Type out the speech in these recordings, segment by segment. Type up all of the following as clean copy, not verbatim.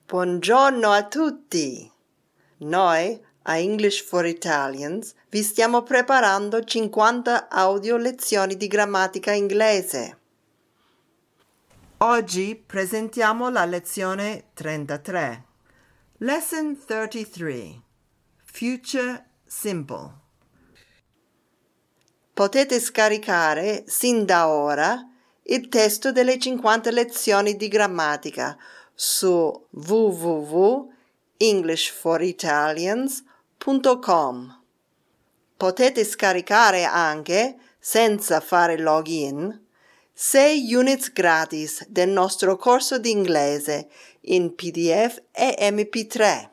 Buongiorno a tutti! Noi, a English for Italians, vi stiamo preparando 50 audio lezioni di grammatica inglese. Oggi presentiamo la lezione 33. Lesson 33. Future Simple. Potete scaricare sin da ora il testo delle 50 lezioni di grammatica su www.englishforitalians.com. Potete scaricare anche, senza fare login, 6 units gratis del nostro corso di inglese in PDF e MP3.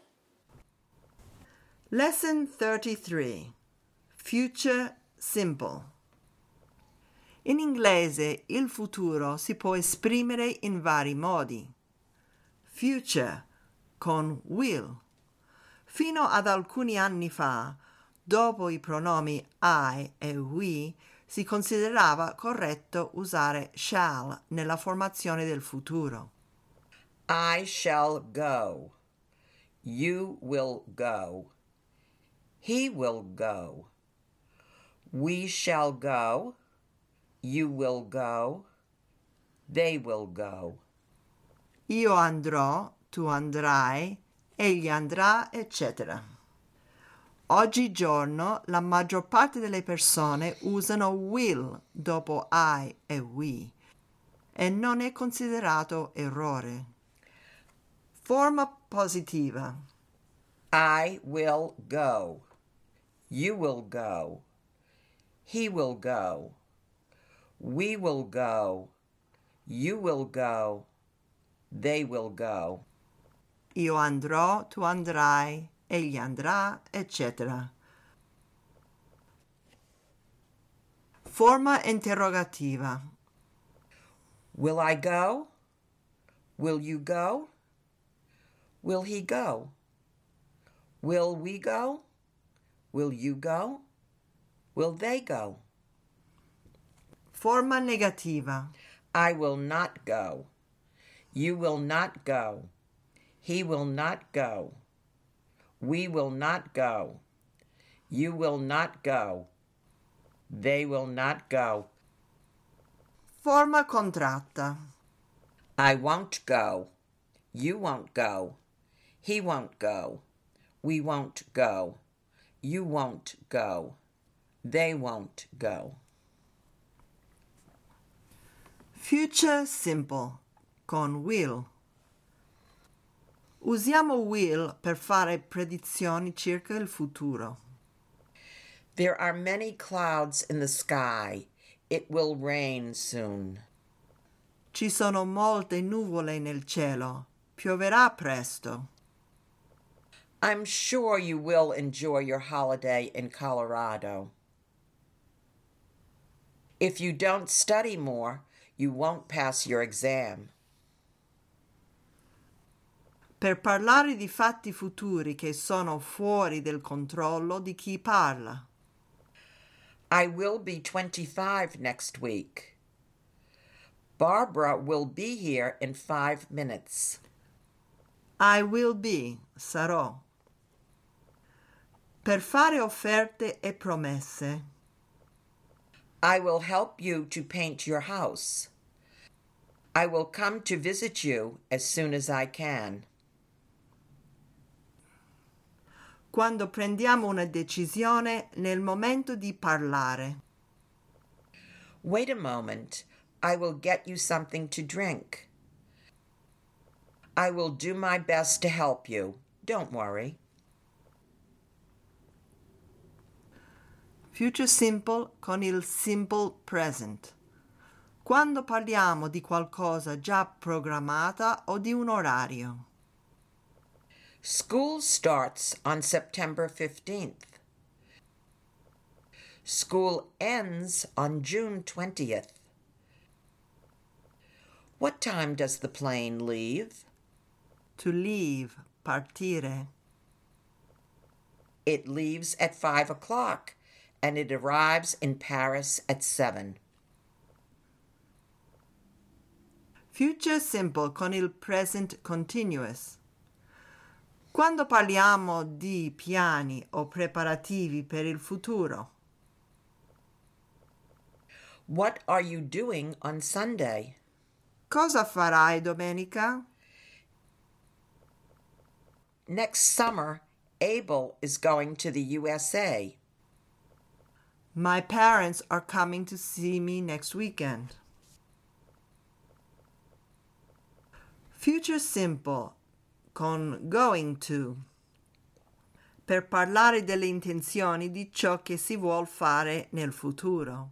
Lesson 33. Future Simple. In inglese il futuro si può esprimere in vari modi. Future con will. Fino ad alcuni anni fa, dopo i pronomi I e we, si considerava corretto usare shall nella formazione del futuro. I shall go. You will go. He will go. We shall go. You will go. They will go. Io andrò, tu andrai, egli andrà, eccetera. Oggigiorno la maggior parte delle persone usano will dopo I e we e non è considerato errore. Forma positiva. I will go. You will go. He will go. We will go. You will go. They will go. Io andrò, tu andrai, egli andrà, eccetera. Forma interrogativa. Will I go? Will you go? Will he go? Will we go? Will you go? Will they go? Forma negativa. I will not go. You will not go. He will not go. We will not go. You will not go. They will not go. Forma contratta. I won't go. You won't go. He won't go. We won't go. You won't go. They won't go. Future simple con will. Usiamo will per fare predizioni circa il futuro. There are many clouds in the sky. It will rain soon. Ci sono molte nuvole nel cielo. Pioverà presto. I'm sure you will enjoy your holiday in Colorado. If you don't study more, you won't pass your exam. Per parlare di fatti futuri che sono fuori del controllo di chi parla. I will be 25 next week. Barbara will be here in 5 minutes. I will be, sarò. Per fare offerte e promesse. I will help you to paint your house. I will come to visit you as soon as I can. Quando prendiamo una decisione nel momento di parlare. Wait a moment. I will get you something to drink. I will do my best to help you. Don't worry. Future simple con il simple present. Quando parliamo di qualcosa già programmata o di un orario. School starts on September 15th. School ends on June 20th. What time does the plane leave? To leave, partire. It leaves at 5 o'clock and it arrives in Paris at 7. Future simple con il present continuous. Quando parliamo di piani o preparativi per il futuro? What are you doing on Sunday? Cosa farai domenica? Next summer, Abel is going to the USA. My parents are coming to see me next weekend. Future simple con going to per parlare delle intenzioni di ciò che si vuol fare nel futuro.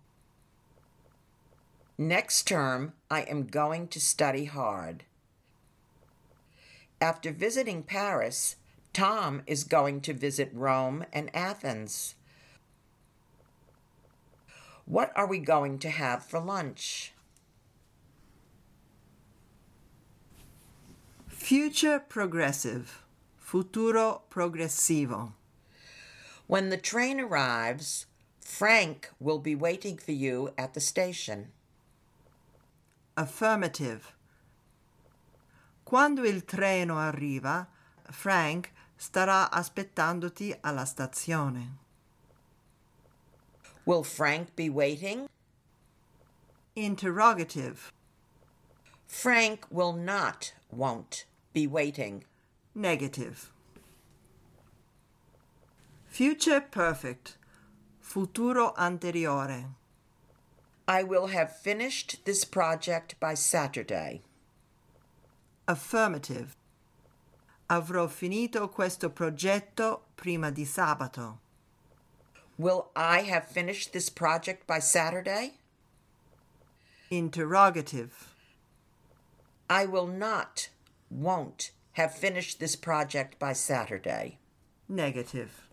Next term, I am going to study hard. After visiting Paris, Tom is going to visit Rome and Athens. What are we going to have for lunch? Future progressive, futuro progressivo. When the train arrives, Frank will be waiting for you at the station. Affirmative. Quando il treno arriva, Frank starà aspettandoti alla stazione. Will Frank be waiting? Interrogative. Frank won't be waiting. Negative. Future perfect, futuro anteriore. I will have finished this project by Saturday. Affirmative. Avrò finito questo progetto prima di sabato. Will I have finished this project by Saturday? Interrogative. I won't have finished this project by Saturday. Negative.